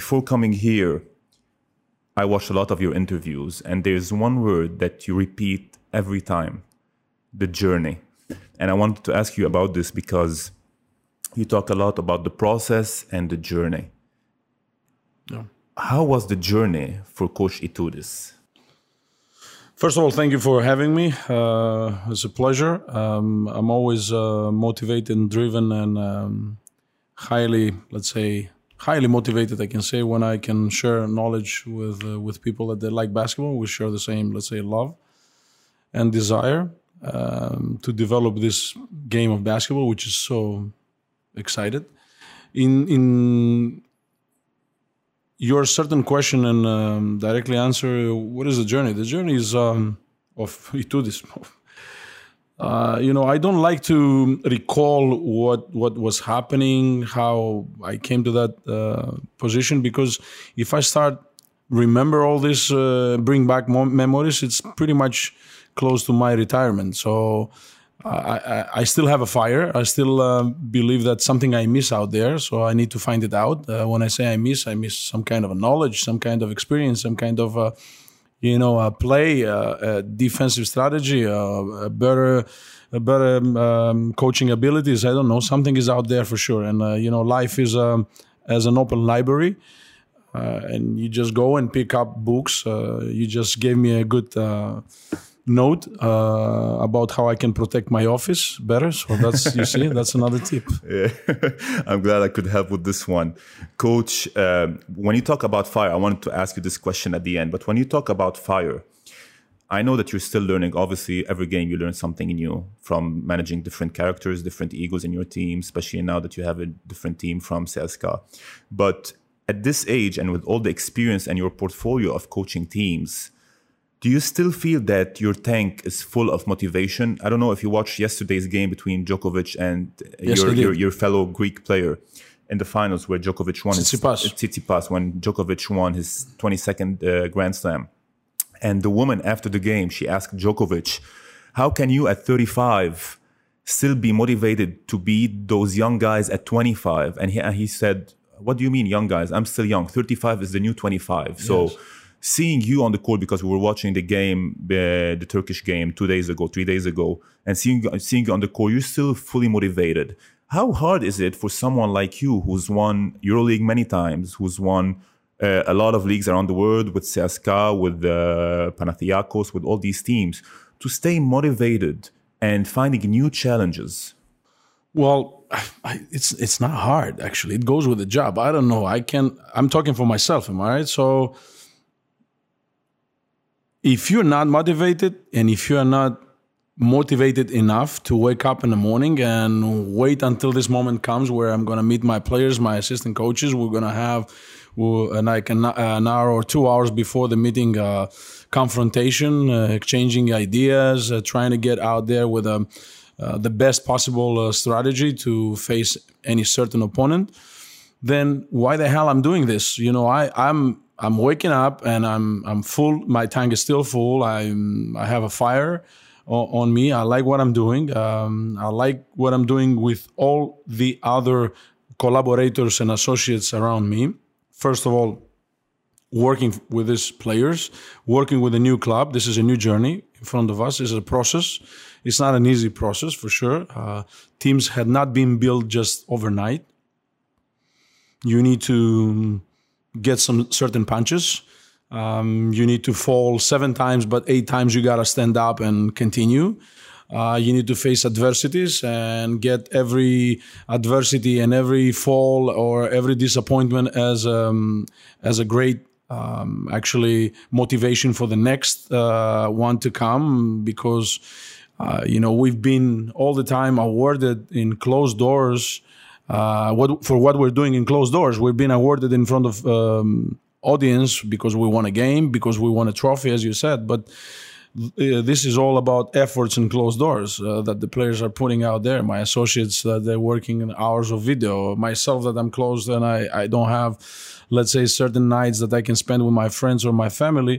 before coming here, I watched a lot of your interviews, and there's one word that you repeat every time, the journey. And I wanted to ask you about this because you talk a lot about the process and the journey. Yeah. How was the journey for Coach Itoudis? First of all, thank you for having me. It's a pleasure. I'm always motivated and driven and highly motivated, I can say, when I can share knowledge with people that they like basketball. We share the same, let's say, love and desire to develop this game of basketball, which is so excited. In your certain question and directly answer, what is the journey? The journey is of Itoudis. I don't like to recall what was happening, how I came to that position, because if I start remember all this, bring back more memories, it's pretty much close to my retirement. So I still have a fire. I still believe that something I miss out there. So I need to find it out. When I say I miss some kind of a knowledge, some kind of experience, some kind of a play, a defensive strategy, a better coaching abilities. I don't know. Something is out there for sure. And life is as an open library, and you just go and pick up books. You just gave me a good note about how I can protect my office better. So that's, you see, that's another tip. Yeah. I'm glad I could help with this one. Coach, when you talk about fire, I wanted to ask you this question at the end, but when you talk about fire, I know that you're still learning. Obviously, every game you learn something new from managing different characters, different egos in your team, especially now that you have a different team from CSKA. But at this age and with all the experience and your portfolio of coaching teams, do you still feel that your tank is full of motivation? I don't know if you watched yesterday's game between Djokovic and your fellow Greek player in the finals where Djokovic won Tsitsipas, when Djokovic won his 22nd Grand Slam. And the woman after the game, she asked Djokovic, how can you at 35 still be motivated to beat those young guys at 25? And he said, what do you mean young guys? I'm still young. 35 is the new 25. So yes. Seeing you on the court, because we were watching the game, the Turkish game 3 days ago, and seeing you on the court, you're still fully motivated. How hard is it for someone like you who's won EuroLeague many times, who's won a lot of leagues around the world with CSKA, with Panathinaikos, with all these teams, to stay motivated and finding new challenges? Well, it's not hard, actually. It goes with the job. I don't know. I'm talking for myself, am I right? So if you're not motivated and if you're not motivated enough to wake up in the morning and wait until this moment comes where I'm going to meet my players, my assistant coaches, we're going to have an hour or 2 hours before the meeting confrontation, exchanging ideas, trying to get out there with the best possible strategy to face any certain opponent, then why the hell I'm doing this? I'm waking up and I'm full. My tank is still full. I have a fire on me. I like what I'm doing. I like what I'm doing with all the other collaborators and associates around me. First of all, working with these players, working with a new club. This is a new journey in front of us. It's a process. It's not an easy process, for sure. Teams had not been built just overnight. You need to get some certain punches. You need to fall 7 times, but 8 times you got to stand up and continue. You need to face adversities and get every adversity and every fall or every disappointment as a great actually motivation for the next one to come, because we've been all the time awarded in closed doors for what we're doing in closed doors. We've been awarded in front of audience because we won a game, because we won a trophy, as you said. But this is all about efforts in closed doors that the players are putting out there. My associates, they're working in hours of video. Myself, that I'm closed and I don't have, let's say, certain nights that I can spend with my friends or my family.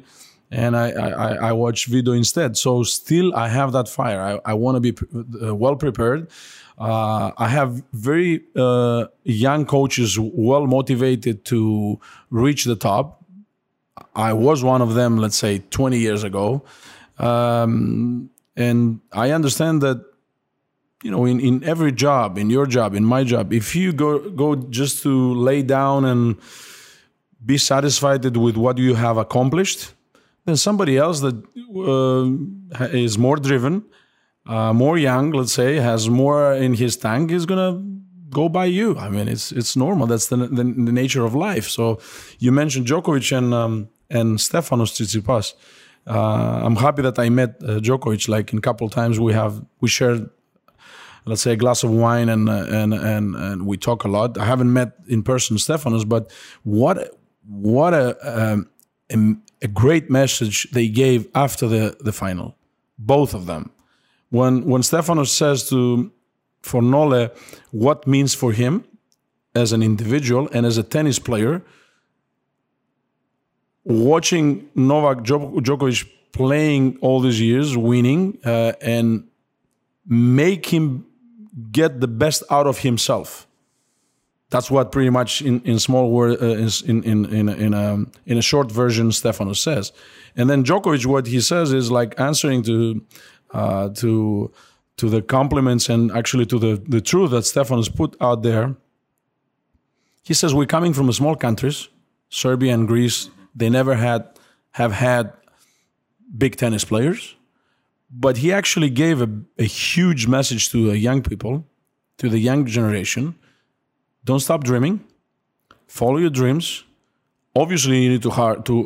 and I watch video instead. So still I have that fire. I want to be well prepared. I have very young coaches, well motivated to reach the top. I was one of them, let's say 20 years ago. And I understand that, in every job, in your job, in my job, if you go just to lay down and be satisfied with what you have accomplished, then somebody else that is more driven, more young, let's say, has more in his tank, is going to go by you. I mean, it's normal. That's the nature of life. So you mentioned Djokovic and Stefanos Tsitsipas. I'm happy that I met Djokovic. Like in a couple of times we shared, let's say, a glass of wine and we talk a lot. I haven't met in person Stefanos, but what a great message they gave after the final, both of them. When Stefanos says for Nole what means for him as an individual and as a tennis player, watching Novak Djokovic playing all these years, winning, and make him get the best out of himself. That's what pretty much in small word in a short version Stefanos says. And then Djokovic, what he says is like answering to the compliments and actually to the truth that Stefanos put out there. He says we're coming from small countries, Serbia and Greece. They never have had big tennis players, but he actually gave a huge message to the young people, to the young generation. Don't stop dreaming. Follow your dreams. Obviously, you need to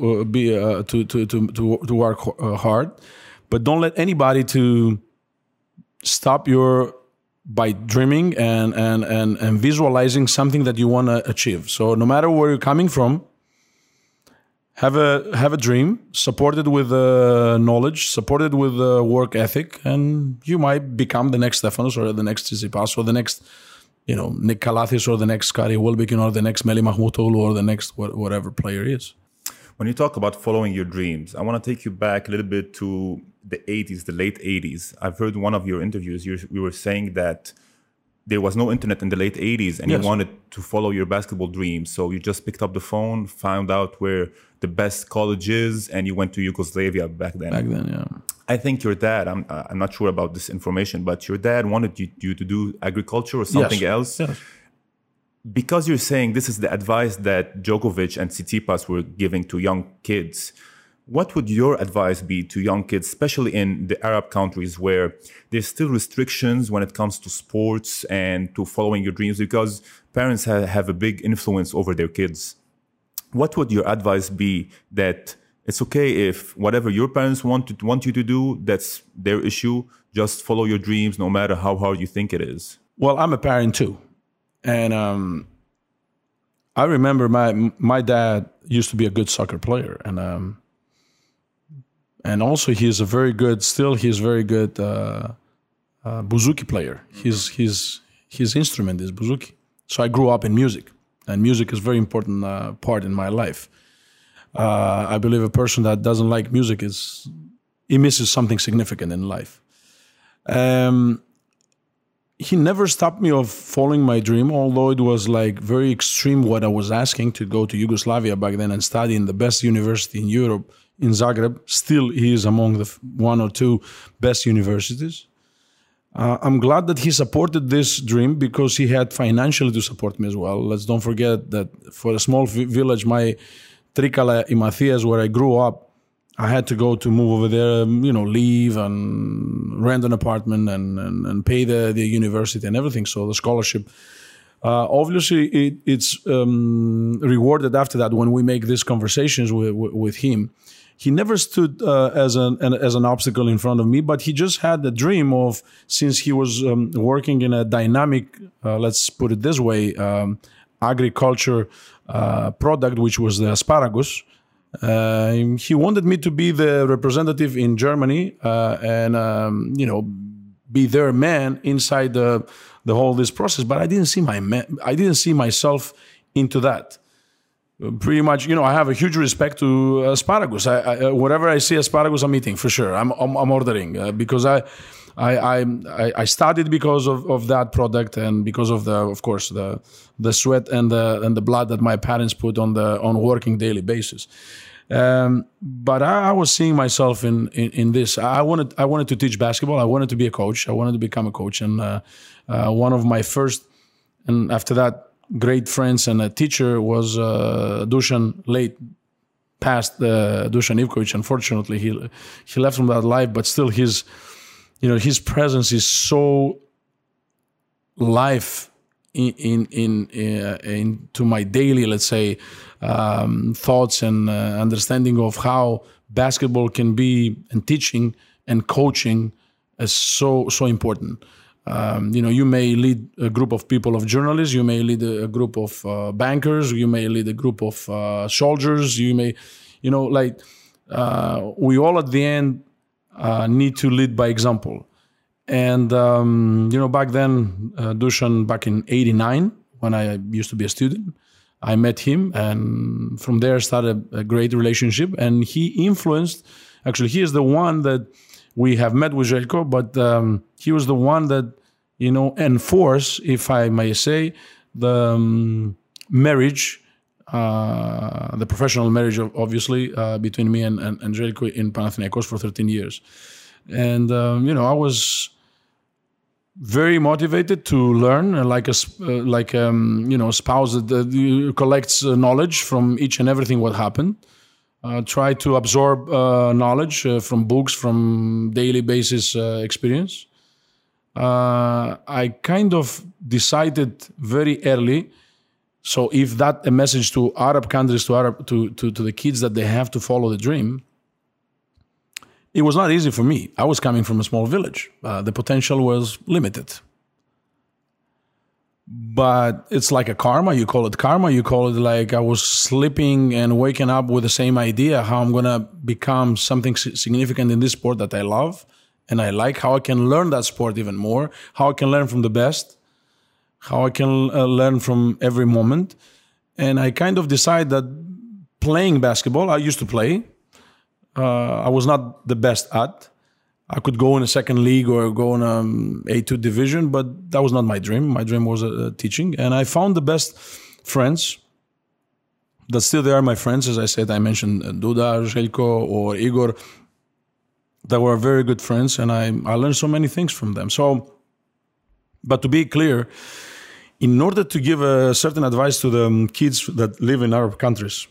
work hard, but don't let anybody to stop by dreaming and visualizing something that you want to achieve. So no matter where you're coming from, have a dream, supported with knowledge, supported with work ethic, and you might become the next Stefanos or the next Tsitsipas or the next, Nick Kalathis or the next Scotty Wilbekin or the next Meli Mahmoutoglu or the next whatever player is. When you talk about following your dreams, I want to take you back a little bit to the 80s, the late 80s. I've heard one of your interviews, you were saying that there was no internet in the late 80s and yes, you wanted to follow your basketball dreams. So you just picked up the phone, found out where the best college is, and you went to Yugoslavia back then. Back then, yeah. I think your dad, I'm not sure about this information, but your dad wanted you to do agriculture or something yes, else. Yes. Because you're saying this is the advice that Djokovic and Tsitsipas were giving to young kids, what would your advice be to young kids, especially in the Arab countries where there's still restrictions when it comes to sports and to following your dreams because parents have a big influence over their kids? What would your advice be that it's okay if whatever your parents want you to do, that's their issue, just follow your dreams no matter how hard you think it is? Well, I'm a parent too. And I remember my dad used to be a good soccer player, and also he's very good bouzouki player. His instrument is bouzouki. So I grew up in music, and music is a very important part in my life. I believe a person that doesn't like music he misses something significant in life. He never stopped me of following my dream, although it was like very extreme what I was asking to go to Yugoslavia back then and study in the best university in Europe, in Zagreb. Still, he is among the one or two best universities. I'm glad that he supported this dream because he had financially to support me as well. Let's don't forget that for a small village, my Trikala in Matthias, where I grew up, I had to move over there, leave and rent an apartment and pay the university and everything. So the scholarship, obviously, it's rewarded after that when we make these conversations with him. He never stood as an obstacle in front of me, but he just had the dream of, since he was working in a dynamic, let's put it this way, agriculture product, which was the asparagus. He wanted me to be the representative in Germany and be their man inside the whole this process. But I didn't see myself into that. pretty much, I have a huge respect to asparagus. Whatever I see asparagus, I'm eating for sure. I'm ordering because I studied because of that product and because of the sweat and the blood that my parents put on working daily basis. But I was seeing myself in this. I wanted to teach basketball. I wanted to be a coach. I wanted to become a coach. And one of my first, and after that, great friends and a teacher was Dusan, late passed Dusan Ivkovic. Unfortunately, he left from that life, but still his presence is so life into my daily, let's say, thoughts and understanding of how basketball can be, and teaching and coaching is so important. You may lead a group of people, of journalists, you may lead a group of bankers, you may lead a group of soldiers, you may, we all at the end need to lead by example. And, back then, Dusan, back in 89, when I used to be a student, I met him, and from there started a great relationship. And he influenced, actually, he is the one that we have met with Željko, but he was the one that, enforced, if I may say, the marriage, the professional marriage, obviously, between me and Željko in Panathinaikos for 13 years. And, I was very motivated to learn, like a spouse that collects knowledge from each and everything what happened. Try to absorb knowledge from books, from daily basis experience. I kind of decided very early. So if that a message to Arab countries, to the kids, that they have to follow the dream, it was not easy for me. I was coming from a small village. The potential was limited. But it's like a karma. You call it karma. You call it like I was sleeping and waking up with the same idea how I'm going to become something significant in this sport that I love and I like, how I can learn that sport even more, how I can learn from the best, how I can learn from every moment. And I kind of decided that playing basketball, I used to play. I was not the best at. I could go in a second league or go in a A2 division, but that was not my dream. My dream was teaching. And I found the best friends that still they are my friends. As I said, I mentioned Duda, Željko, or Igor, that were very good friends. And I learned so many things from them. So, but to be clear, in order to give a certain advice to the kids that live in Arab countries,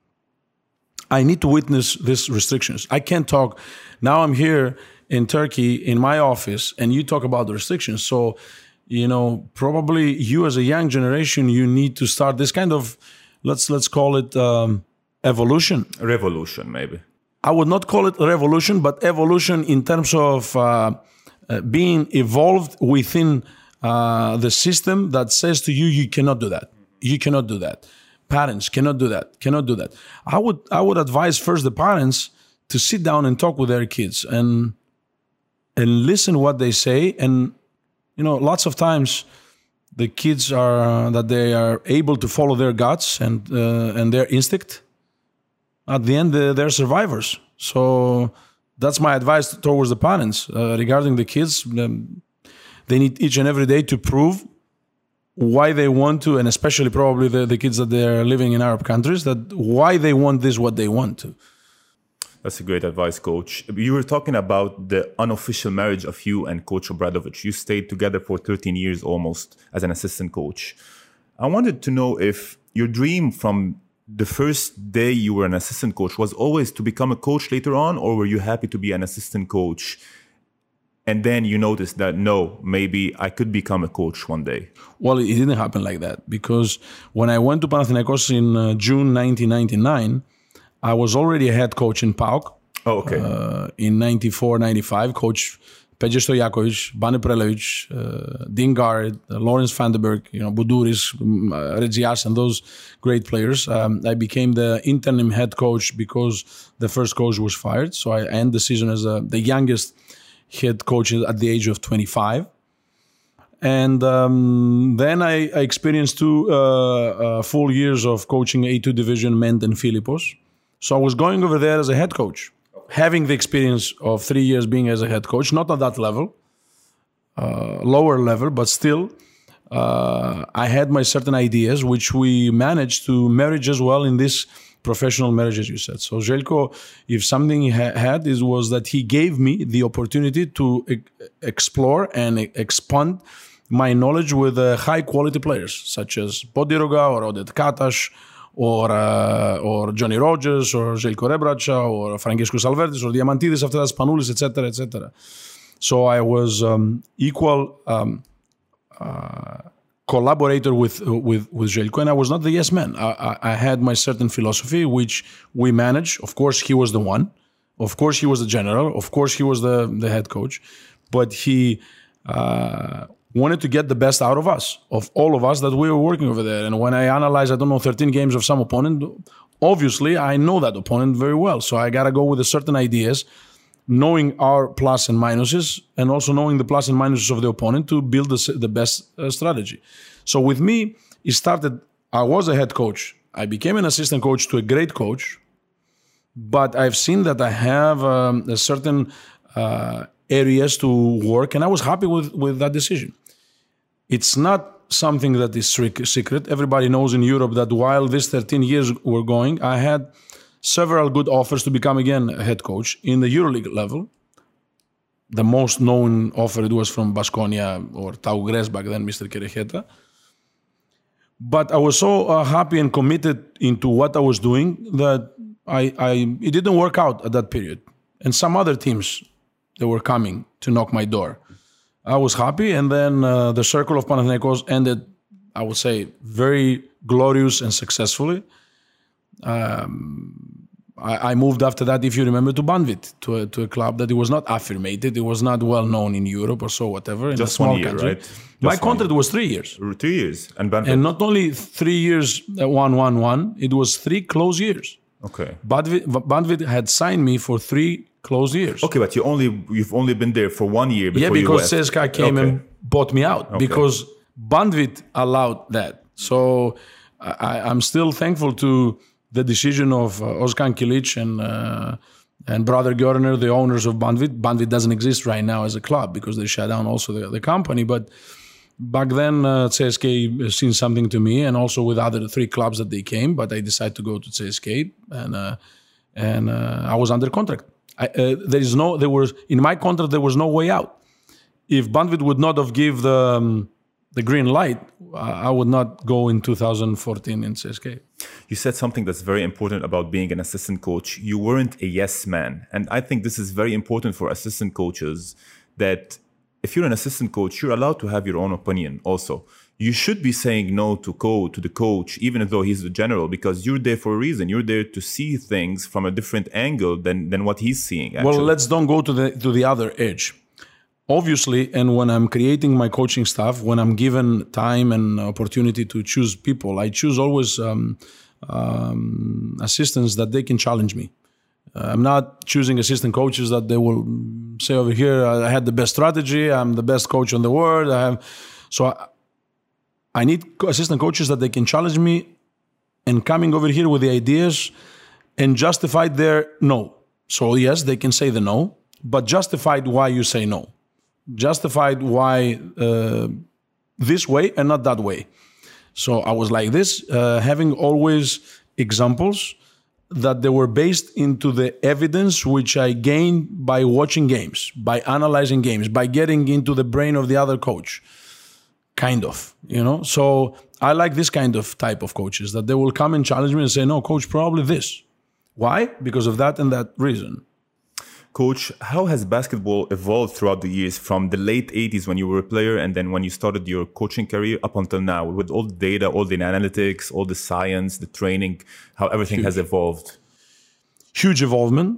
I need to witness these restrictions. I can't talk. Now I'm here in Turkey in my office and you talk about the restrictions. So, probably you as a young generation, you need to start this kind of, let's call it evolution. Revolution, maybe. I would not call it revolution, but evolution in terms of being evolved within the system that says to you, you cannot do that. You cannot do that. Parents cannot do that. I would advise first the parents to sit down and talk with their kids and listen what they say. And lots of times the kids they are able to follow their guts and their instinct. At the end, they're survivors. So that's my advice towards the parents regarding the kids. They need each and every day to prove why they want to, and especially probably the kids that they're living in Arab countries, that why they want this, what they want to. That's a great advice, Coach. You were talking about the unofficial marriage of you and Coach Obradovic. You stayed together for 13 years almost as an assistant coach. I wanted to know if your dream from the first day you were an assistant coach was always to become a coach later on, or were you happy to be an assistant coach? And then you noticed that, no, maybe I could become a coach one day. Well, it didn't happen like that, because when I went to Panathinaikos in June 1999, I was already a head coach in PAOK. Oh, okay. In 94, 95, Coach Peja Stojakovic, Bane Prelevic, Dean Garrett, Lawrence Vandenberg, Buduris, Regias, and those great players. I became the interim head coach because the first coach was fired. So I ended the season as the youngest head coach at the age of 25. And then I experienced 2 full years of coaching A2 division Ment and Philippos. So I was going over there as a head coach, having the experience of 3 years being as a head coach, not at that level, lower level, but still I had my certain ideas, which we managed to marriage as well in this professional marriage, as you said. So Željko, if something he had, was that he gave me the opportunity to explore and expand my knowledge with high quality players, such as Podiroga or Oded Kataš, or Johnny Rogers, or Željko Rebraca, or Franciscus Albertis, or Diamantidis after that, Spanoulis, etc., etc. So I was equal collaborator with Željko, and I was not the yes man. I had my certain philosophy, which we managed. Of course, he was the one. Of course, he was the general. Of course, he was the head coach. But he wanted to get the best out of us, of all of us that we were working over there. And when I analyze, 13 games of some opponent, obviously I know that opponent very well. So I got to go with certain ideas, knowing our plus and minuses, and also knowing the plus and minuses of the opponent to build the best strategy. So with me, it started, I was a head coach. I became an assistant coach to a great coach, but I've seen that I have a certain areas to work, and I was happy with that decision. It's not something that is secret. Everybody knows in Europe that while these 13 years were going, I had several good offers to become again a head coach in the EuroLeague level. The most known offer it was from Baskonia or Tau Gres back then, Mr. Kerejeta. But I was so happy and committed into what I was doing that it didn't work out at that period. And some other teams, they were coming to knock my door. I was happy, and then the circle of Panathinaikos ended, I would say, very glorious and successfully. I moved after that, if you remember, to Banvit, to a club that it was not affirmated, it was not well known in Europe or so, whatever. In just a small 1 year, country. right? My contract was 3 years. 3 years, and Banvit. And not only 3 years, 1-1-1, it was 3 close years. Okay. Banvit had signed me for 3 close years. Okay, but you've only been there for 1 year before you because left. CSKA came and bought me out because Banvit allowed that. So I'm still thankful to the decision of Ozkan Kilic and Brother Görner, the owners of Banvit. Banvit doesn't exist right now as a club because they shut down also the company. But back then, CSKA seen something to me, and also with other 3 clubs that they came. But I decided to go to CSKA, and I was under contract. In my contract there was no way out. If Banvit would not have give the green light, I would not go in 2014 in CSKA. You said something that's very important about being an assistant coach. You weren't a yes man, and I think this is very important for assistant coaches. That if you're an assistant coach, you're allowed to have your own opinion. Also, you should be saying no to the coach, even though he's the general, because you're there for a reason. You're there to see things from a different angle than what he's seeing. Actually. Well, let's don't go to the other edge. Obviously, and when I'm creating my coaching staff, when I'm given time and opportunity to choose people, I choose always assistants that they can challenge me. I'm not choosing assistant coaches that they will say over here, I had the best strategy, I'm the best coach in the world. I need assistant coaches that they can challenge me and coming over here with the ideas and justify their no. So yes, they can say the no, but justified why you say no. Justified why this way and not that way. So I was like this, having always examples that they were based into the evidence which I gained by watching games, by analyzing games, by getting into the brain of the other coach. Kind of, So I like this kind of type of coaches, that they will come and challenge me and say, no, coach, probably this. Why? Because of that and that reason. Coach, how has basketball evolved throughout the years from the late 80s when you were a player and then when you started your coaching career up until now, with all the data, all the analytics, all the science, the training, how everything has evolved? Huge involvement,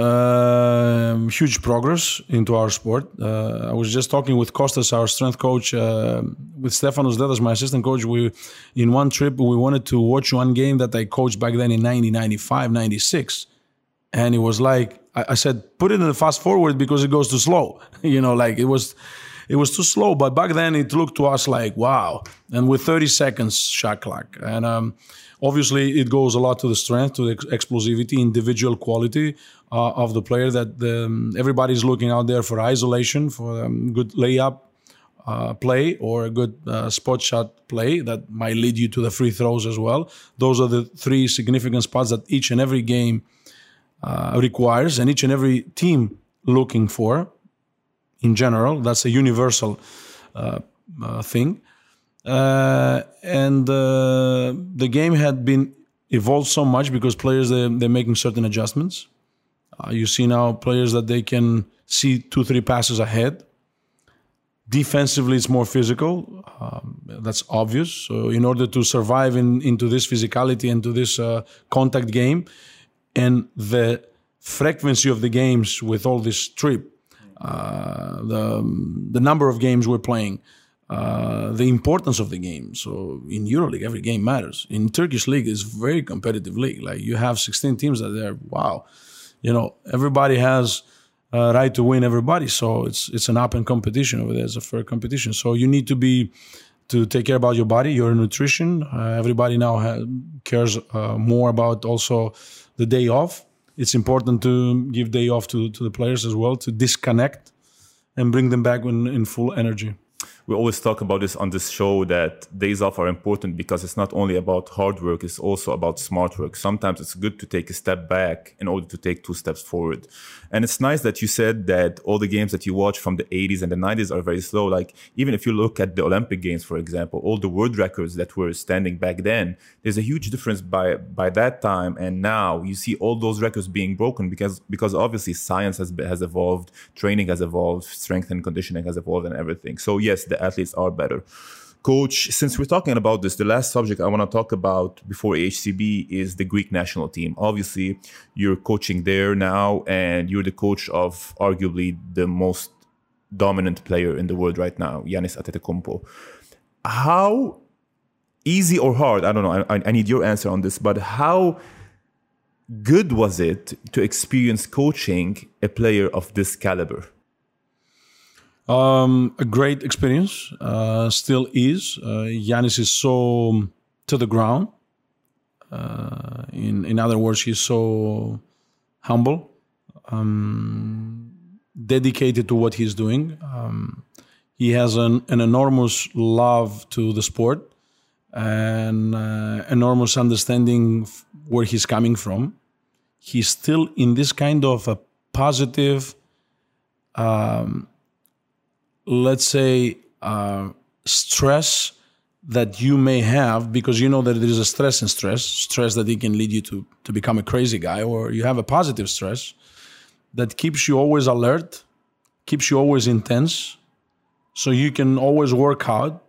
huge progress into our sport. I was just talking with Kostas, our strength coach, with Stefanos Dedas, my assistant coach. In one trip, we wanted to watch one game that I coached back then in 1995, 96. And it was like, I said, put it in the fast forward because it goes too slow. It was it was too slow. But back then, it looked to us like, wow. And with 30 seconds shot clock. And obviously, it goes a lot to the strength, to the explosivity, individual quality of the player, that everybody's looking out there for isolation, for good layup play, or a good spot shot play that might lead you to the free throws as well. Those are the three significant spots that each and every game requires, and each and every team looking for. In general, that's a universal thing. And the game had been evolved so much because players, they're making certain adjustments. You see now players that they can see 2-3 passes ahead. Defensively, it's more physical. That's obvious. So in order to survive into this physicality, into this contact game, and the frequency of the games with all this trip, the number of games we're playing, the importance of the game. So in EuroLeague, every game matters. In Turkish league, it's a very competitive league. Like, you have 16 teams that are, wow. Everybody has a right to win everybody. So it's an open competition over there. It's a fair competition. So you need to take care about your body, your nutrition. Everybody now cares more about also the day off. It's important to give day off to the players as well, to disconnect and bring them back in full energy. We always talk about this on this show, that days off are important because it's not only about hard work, it's also about smart work. Sometimes it's good to take a step back in order to take 2 steps forward. And it's nice that you said that all the games that you watch from the 80s and the 90s are very slow. Like, even if you look at the Olympic Games, for example, all the world records that were standing back then, there's a huge difference by that time and now. You see all those records being broken because obviously science has evolved, training has evolved, strength and conditioning has evolved, and everything. So yes, the athletes are better. Coach, since we're talking about this, the last subject I want to talk about before HCB is the Greek national team. Obviously, you're coaching there now, and you're the coach of arguably the most dominant player in the world right now, Giannis Antetokounmpo. How easy or hard, I don't know, I need your answer on this, but how good was it to experience coaching a player of this caliber? A great experience, still is. Giannis is so to the ground. In other words, he's so humble, dedicated to what he's doing. He has an enormous love to the sport and enormous understanding where he's coming from. He's still in this kind of a positive, let's say, stress that you may have, because you know that there is a stress and stress that it can lead you to become a crazy guy, or you have a positive stress that keeps you always alert, keeps you always intense, so you can always work out.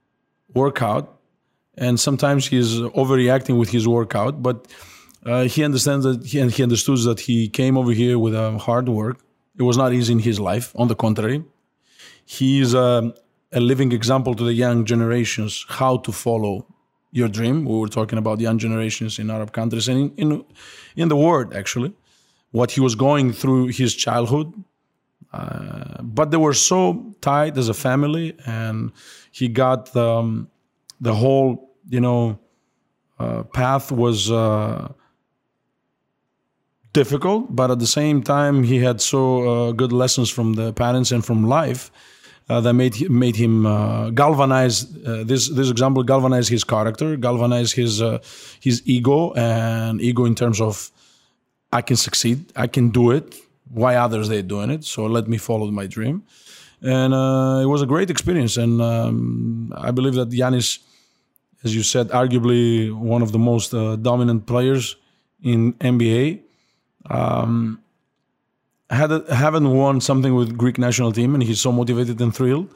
And sometimes he's overreacting with his workout, but he understands that he understood that he came over here with hard work. It was not easy in his life. On the contrary, he's a living example to the young generations how to follow your dream. We were talking about young generations in Arab countries and in the world, actually, what he was going through his childhood. But they were so tight as a family, and he got the whole, path was difficult, but at the same time, he had so good lessons from the parents and from life that made him galvanize. This example galvanized his character, galvanized his ego, and ego in terms of, I can succeed, I can do it. Why others they're doing it? So let me follow my dream. And it was a great experience. And I believe that Giannis, as you said, arguably one of the most dominant players in NBA. Haven't won something with Greek national team, and he's so motivated and thrilled.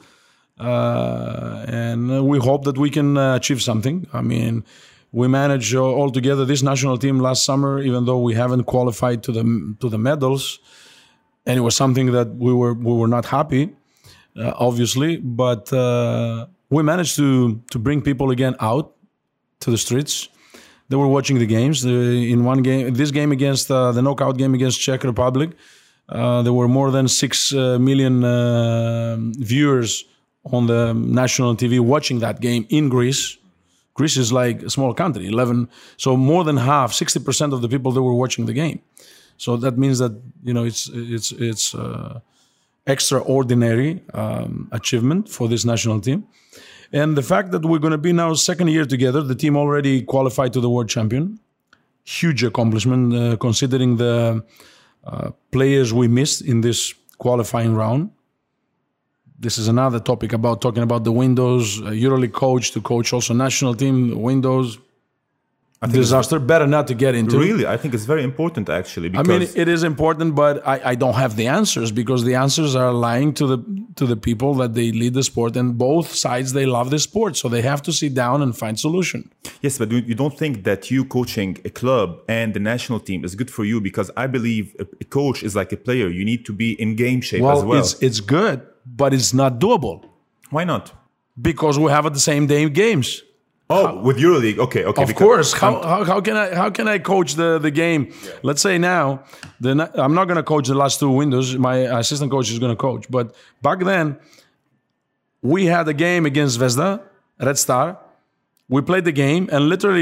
And we hope that we can achieve something. I mean, we managed all together this national team last summer, even though we haven't qualified to the medals, and it was something that we were not happy, obviously. But we managed to bring people again out to the streets. They were watching the games. In one game, this game against the knockout game against Czech Republic, There were more than 6 million viewers on the national TV watching that game in Greece. Greece is like a small country, 11. So more than half, 60% of the people that were watching the game. So that means that it's extraordinary achievement for this national team. And the fact that we're going to be now second year together, the team already qualified to the world champion. Huge accomplishment considering the players we missed in this qualifying round. This is another topic about talking about the windows, EuroLeague coach to coach also national team windows. Disaster, better not to get into. Really, I think it's very important actually. Because I mean, it is important, but I don't have the answers because the answers are lying to the people that they lead the sport, and both sides they love the sport, so they have to sit down and find solution. Yes, but you don't think that you coaching a club and the national team is good for you? Because I believe a coach is like a player. You need to be in game shape as well. It's good, but it's not doable. Why not? Because we have at the same day games. With EuroLeague, okay. Of course. How can I coach the game? Yeah. Let's say now, I'm not going to coach the last 2 windows. My assistant coach is going to coach. But back then, we had a game against Zvezda, Red Star. We played the game, and literally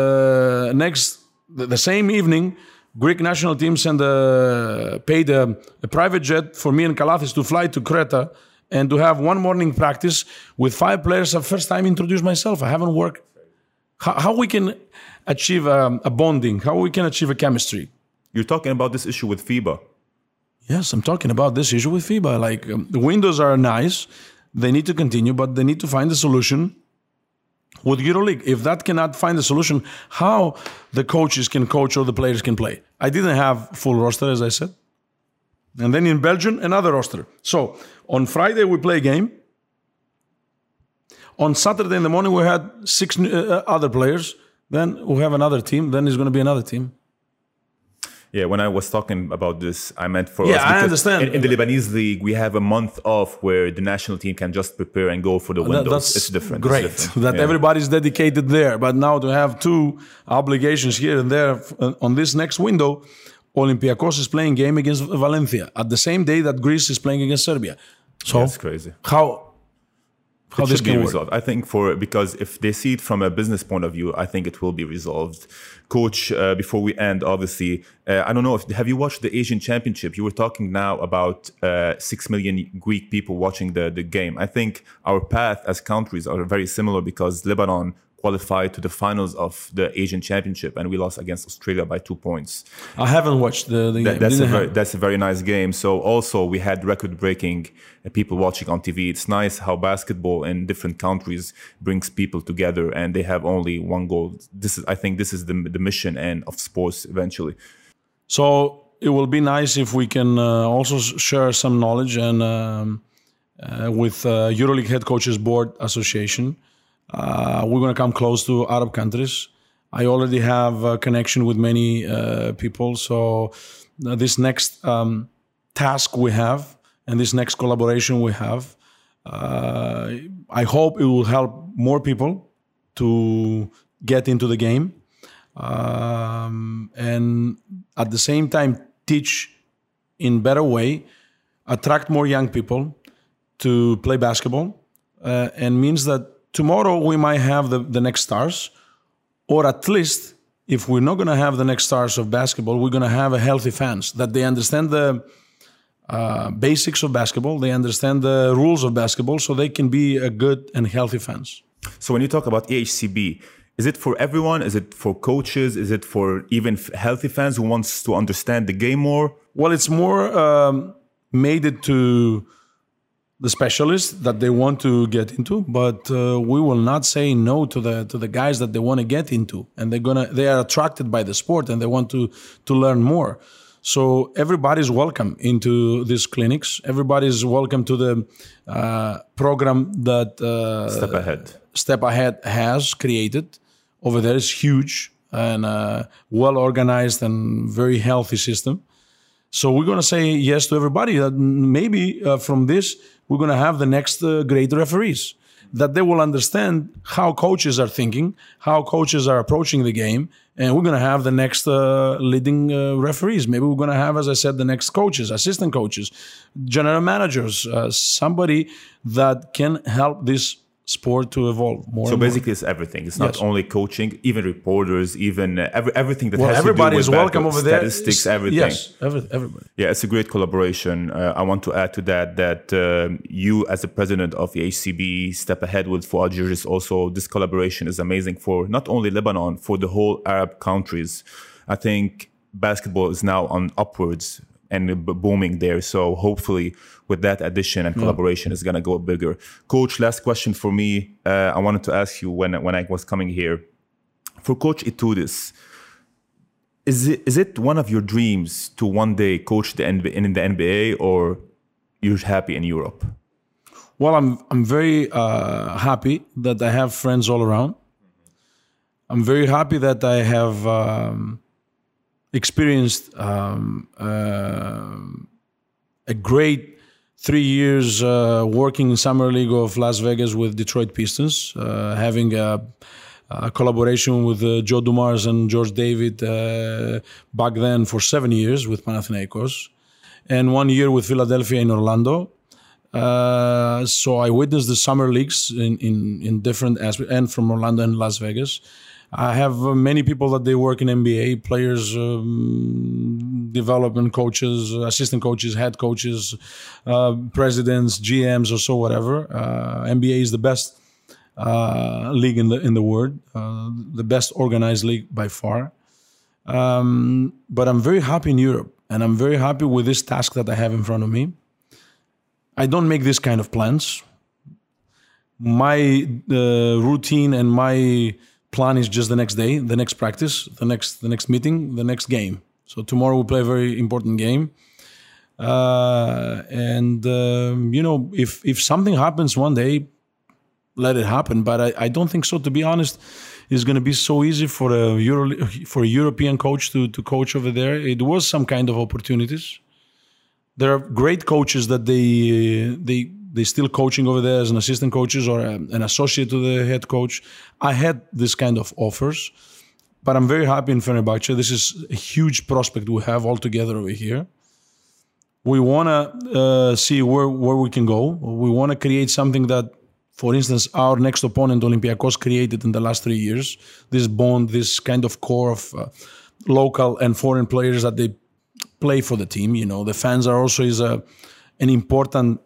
the same evening, Greek national team paid a private jet for me and Kalathis to fly to Creta and to have one morning practice with 5 players. First time introduce myself. I haven't worked. How we can achieve a bonding? How we can achieve a chemistry? You're talking about this issue with FIBA. Yes, I'm talking about this issue with FIBA. Like the windows are nice. They need to continue, but they need to find a solution with EuroLeague. If that cannot find a solution, how the coaches can coach or the players can play? I didn't have full roster, as I said. And then in Belgium, another roster. So on Friday, we play a game. On Saturday in the morning, we had 6 other players. Then we have another team. Then there's going to be another team. Yeah, when I was talking about this, I meant for us. Yeah, I understand. In the Lebanese league, we have a month off where the national team can just prepare and go for the windows. It's different. Great. It's different. That everybody's dedicated there. But now to have 2 obligations here and there on this next window, Olympiacos is playing game against Valencia at the same day that Greece is playing against Serbia. So that's crazy. How this can work? Resolved? I think because if they see it from a business point of view, I think it will be resolved. Coach, before we end, obviously, I don't know have you watched the Asian Championship? You were talking now about 6 million Greek people watching the game. I think our path as countries are very similar because Lebanon qualified to the finals of the Asian Championship, and we lost against Australia by 2 points. I haven't watched the game. That's a very nice game. So also we had record-breaking people watching on TV. It's nice how basketball in different countries brings people together, and they have only one goal. I think this is the mission and of sports eventually. So it will be nice if we can also share some knowledge and with EuroLeague Head Coaches Board Association. We're going to come close to Arab countries. I already have a connection with many people. So this next task we have and this next collaboration we have, I hope it will help more people to get into the game. And at the same time, teach in better way, attract more young people to play basketball, and means that tomorrow we might have the next stars, or at least if we're not going to have the next stars of basketball, we're going to have a healthy fans that they understand the basics of basketball, they understand the rules of basketball, so they can be a good and healthy fans. So when you talk about EHCB, is it for everyone? Is it for coaches? Is it for even healthy fans who wants to understand the game more? Well, it's more made it to the specialists that they want to get into, but we will not say no to the guys that they want to get into, and they are attracted by the sport and they want to learn more. So everybody's welcome into these clinics. Everybody's welcome to the program that Step Ahead has created over there. Is huge and well organized and very healthy system. So we're going to say yes to everybody. That maybe from this we're going to have the next great referees. that they will understand how coaches are thinking, how coaches are approaching the game, and we're going to have the next leading referees. Maybe we're going to have, as I said, the next coaches, assistant coaches, general managers, somebody that can help this sport to evolve more. So basically, it's everything. It's not only coaching, even reporters, even everything that has to do with everybody is welcome over there. Statistics, everything. Yes, everybody. Yeah, it's a great collaboration. I want to add to that you, as the president of the HCB, step ahead with Fouad Gerges. Also, this collaboration is amazing for not only Lebanon, for the whole Arab countries. I think basketball is now on upwards and booming there. So hopefully with that addition and collaboration is going to go bigger. Coach, last question for me. I wanted to ask you when I was coming here. For Coach Itoudis, is it one of your dreams to one day coach in the NBA, or you're happy in Europe? Well, I'm very happy that I have friends all around. I'm very happy that I have experienced a great 3 years working in Summer League of Las Vegas with Detroit Pistons, having a collaboration with Joe Dumars and George David back then for 7 years with Panathinaikos, and 1 year with Philadelphia in Orlando. So I witnessed the summer leagues in different aspects, and from Orlando and Las Vegas. I have many people that they work in NBA, players, development coaches, assistant coaches, head coaches, presidents, GMs, or so whatever. NBA is the best league in the world, the best organized league by far. But I'm very happy in Europe, and I'm very happy with this task that I have in front of me. I don't make this kind of plans. My routine and my plan is just the next day, the next practice, the next meeting, the next game. So tomorrow we play a very important game. If something happens one day, let it happen. But I don't think so. To be honest, it's going to be so easy for a European coach to coach over there. It was some kind of opportunities. There are great coaches that they still coaching over there as an assistant coaches or an associate to the head coach. I had this kind of offers, but I'm very happy in Fenerbahce. This is a huge prospect we have all together over here. We want to see where we can go. We want to create something that, for instance, our next opponent, Olympiacos, created in the last 3 years. This bond, this kind of core of local and foreign players that they play for the team. The fans are also an important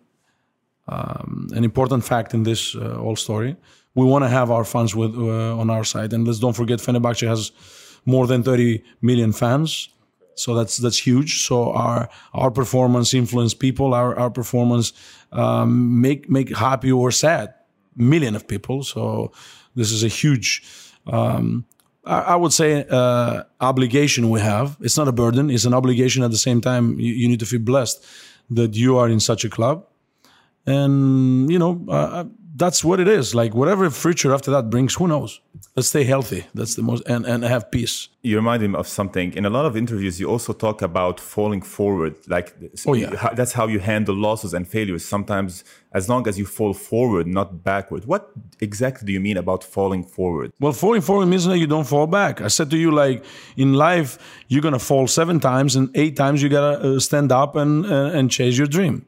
fact in this whole story. We want to have our fans on our side, and let's don't forget Fenerbahce has more than 30 million fans, so that's huge. So our performance influence people. Our performance make happy or sad million of people. So this is a huge, I would say, obligation we have. It's not a burden; it's an obligation. At the same time, you need to feel blessed that you are in such a club. And, that's what it is. Like, whatever future after that brings, who knows? Let's stay healthy. That's the most, and have peace. You remind me of something. In a lot of interviews, you also talk about falling forward. Like, that's how you handle losses and failures. Sometimes, as long as you fall forward, not backward. What exactly do you mean about falling forward? Well, falling forward means that you don't fall back. I said to you, like, in life, you're going to fall 7 times, and 8 times you got to stand up and chase your dream.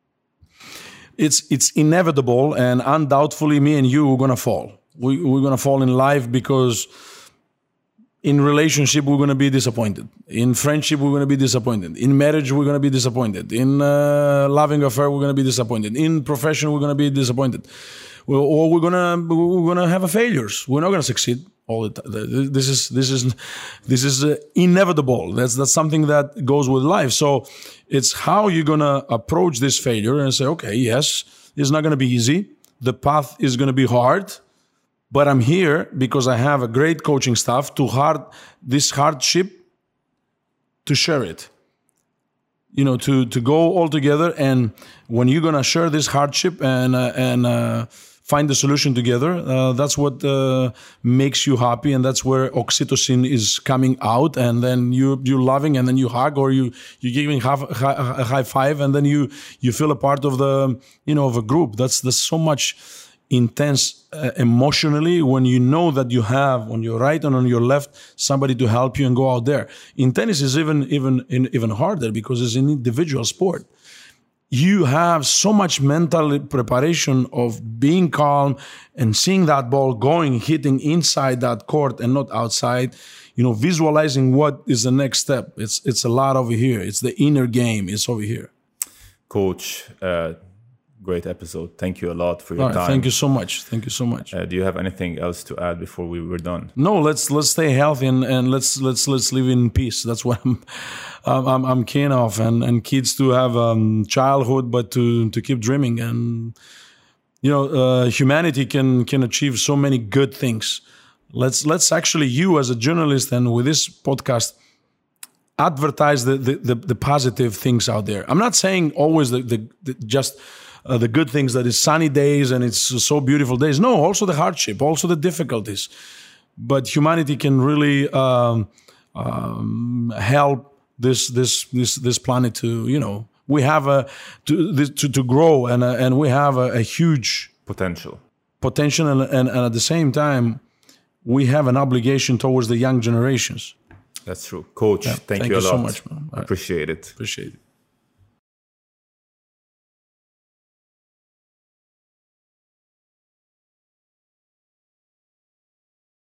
It's inevitable, and undoubtedly me and you are going to fall. We're going to fall in life because in relationship we're going to be disappointed. In friendship we're going to be disappointed. In marriage we're going to be disappointed. In loving affair we're going to be disappointed. In profession we're going to be disappointed. Or we're going to have failures. We're not going to succeed all the time. This is inevitable. That's something that goes with life. So it's how you're going to approach this failure and say, okay, yes, it's not going to be easy. The path is going to be hard, but I'm here because I have a great coaching staff this hardship to share it. To go all together, and when you're going to share this hardship and find the solution together, that's what makes you happy, and that's where oxytocin is coming out, and then you're loving, and then you hug, or you're giving a high five, and then you feel a part of the of a group. That's so much intense emotionally when you know that you have on your right and on your left somebody to help you and go out there. In tennis is even harder because it's an individual sport. You have so much mental preparation of being calm and seeing that ball going, hitting inside that court and not outside, visualizing what is the next step. It's a lot over here. It's the inner game. It's over here. Coach, great episode. Thank you a lot for your time. Thank you so much. Thank you so much. Do you have anything else to add before we were done? No, let's stay healthy and let's live in peace. That's what I'm keen of, and kids to have childhood, but to keep dreaming. And humanity can achieve so many good things. Let's actually, you as a journalist and with this podcast, advertise the positive things out there. I'm not saying always the good things, that is sunny days and it's so beautiful days. No, also the hardship, also the difficulties. But humanity can really help this planet to, we have to grow, and we have a huge potential, and at the same time, we have an obligation towards the young generations. That's true. Coach, thank you a lot. So much, man. Appreciate it. Appreciate it.